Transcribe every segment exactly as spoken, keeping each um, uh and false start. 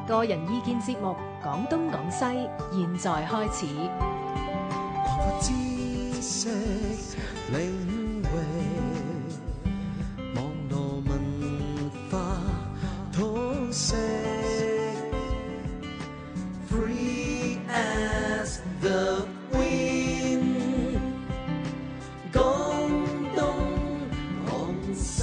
個人意見節目《講東講西》，現在開始。 擴闊知識領域，網絡文化通識 ，Free as the wind， 講東講西。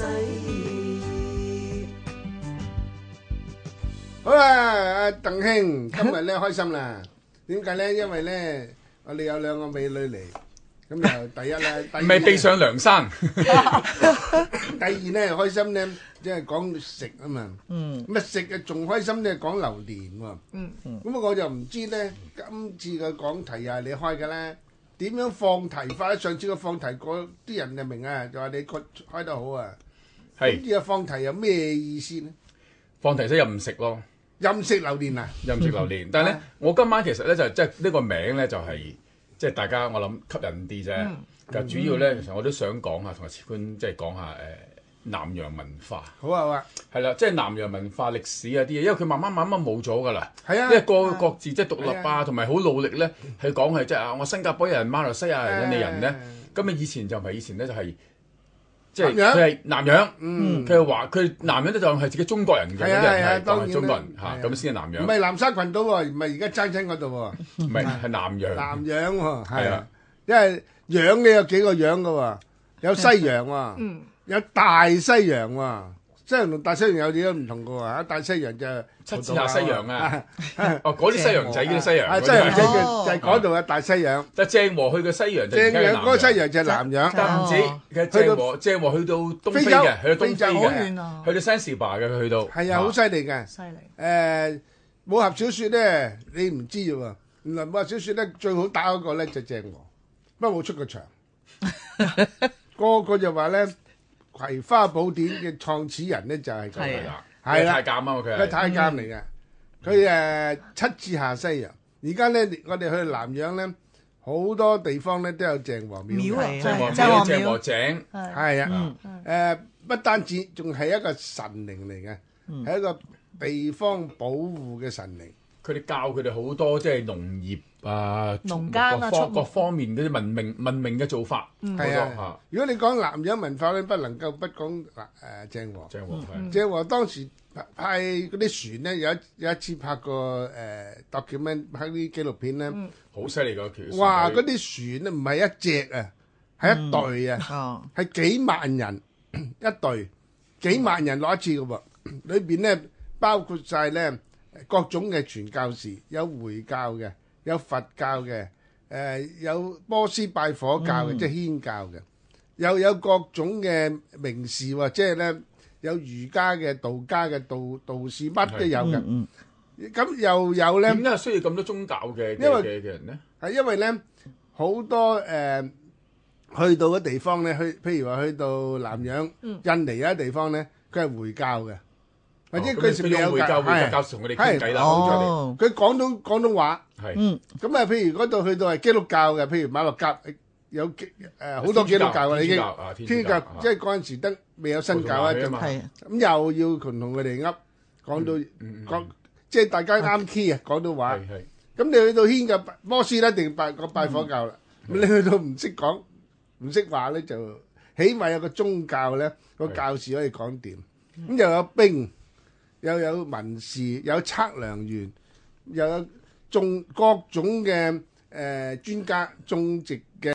好啦，阿鄧兄，今日咧開心啦。點解咧？因為咧，我哋有兩個美女嚟，咁又第一咧，第二未避上梁山。 第二咧開心咧，即係講食啊嘛。嗯。咁啊食啊仲開心咧，講榴蓮喎。嗯嗯。咁啊我就唔知咧，今次嘅講題又係你開嘅咧，點樣放題法咧？上次個放題嗰啲人就明啊，就話你個開得好啊。 係。 呢個放題有咩意思咧？ 放題即係任食咯。 任食榴蓮啊！ 任食榴蓮，但係咧，我今晚其實咧就即係呢個名咧就係即係大家我諗吸引啲啫。其實主要咧，其實我都想講下同阿次官即係講下誒南洋文化。 好啊好啊， 係啦，即係南洋文化歷史啊啲嘢，因為佢慢慢慢慢冇咗㗎啦。 係啊， 因為各各自即係獨立啊，同埋好努力咧，係講係即係啊，我新加坡人、馬來西亞人、印尼人咧，咁啊以前就唔係以前咧就係。即係佢係南洋，佢係話佢南洋咧就係自己中國人嘅，嗰啲人係當係中國人嚇，咁先係南洋。 唔係南沙群島喎，唔係而家爭親嗰度喎。 唔係係南洋。 南洋喎，係啊，因為洋你有幾個洋㗎喎，有西洋喎，有大西洋喎。西洋同大西洋有啲都唔同㗎喎嚇，大西洋就七字下西洋啊，哦嗰啲西洋仔嗰啲西洋， 啊西洋仔就就係嗰度嘅大西洋。 但係鄭和去嘅西洋就鄭洋嗰個西洋就係南洋， 但唔止其實鄭和鄭和去到東非嘅，去到東非嘅，去到 Zanzibar 嘅佢去到。 係啊，好犀利嘅。 犀利。 誒武俠小説咧，你唔知喎，原來武俠小説咧最好打嗰個咧就鄭和，不過冇出過場。個個就話咧。《葵花寶典》嘅創始人咧就係佢啦，係啦， 太監啊嘛佢係， 佢太監嚟嘅，佢誒七次下西洋。而家咧，我哋去南洋咧，好多地方咧都有鄭和廟嘅， 鄭和廟、鄭和井， 係啊，誒不單止，仲係一個神靈嚟嘅，係一個地方保護嘅神靈。 佢哋教佢哋好多即係農業啊、 農耕啊、 各各方面嗰啲文明文明嘅做法。 係啊，如果你講南洋文化咧，不能夠不講嗱誒鄭和。 鄭和係。 鄭和當時派嗰啲船咧，有一有一次拍過誒 document 拍啲紀錄片咧， 好犀利㗎條。 哇！嗰啲船咧唔係一隻啊，係一隊啊，係幾萬人一隊，幾萬人攞一次㗎喎。裏邊咧包括曬咧。各種嘅傳教士，有回教嘅，有佛教嘅，誒、呃、有波斯拜火教嘅，嗯、即係祆教嘅，又有各種嘅名士喎，即係咧有儒家嘅、道家嘅、道道士乜都有嘅。咁、嗯嗯、又有咧， 點解需要咁多宗教嘅嘅嘅人咧？係因為咧好多誒、呃、去到嘅地方咧，去譬如話去到南洋、嗯、印尼有啲地方咧，佢係回教嘅。或者佢成日有教， 係教同佢哋傾偈啦。 佢廣東廣東話， 係咁啊。譬如嗰度去到係基督教嘅，譬如馬六甲有誒好多基督教啊，已經天主教，即係嗰陣時得未有新教啊，咁又要同同佢哋噏講到講，即係大家啱 key 啊，廣東話。咁你去到祆教摩斯咧，一定拜個拜火教啦。咁你去到唔識講唔識話咧，就起碼有個宗教咧，個教士可以講掂。咁又有兵。又有文士，有測量員，又有種各種嘅誒專家種植嘅。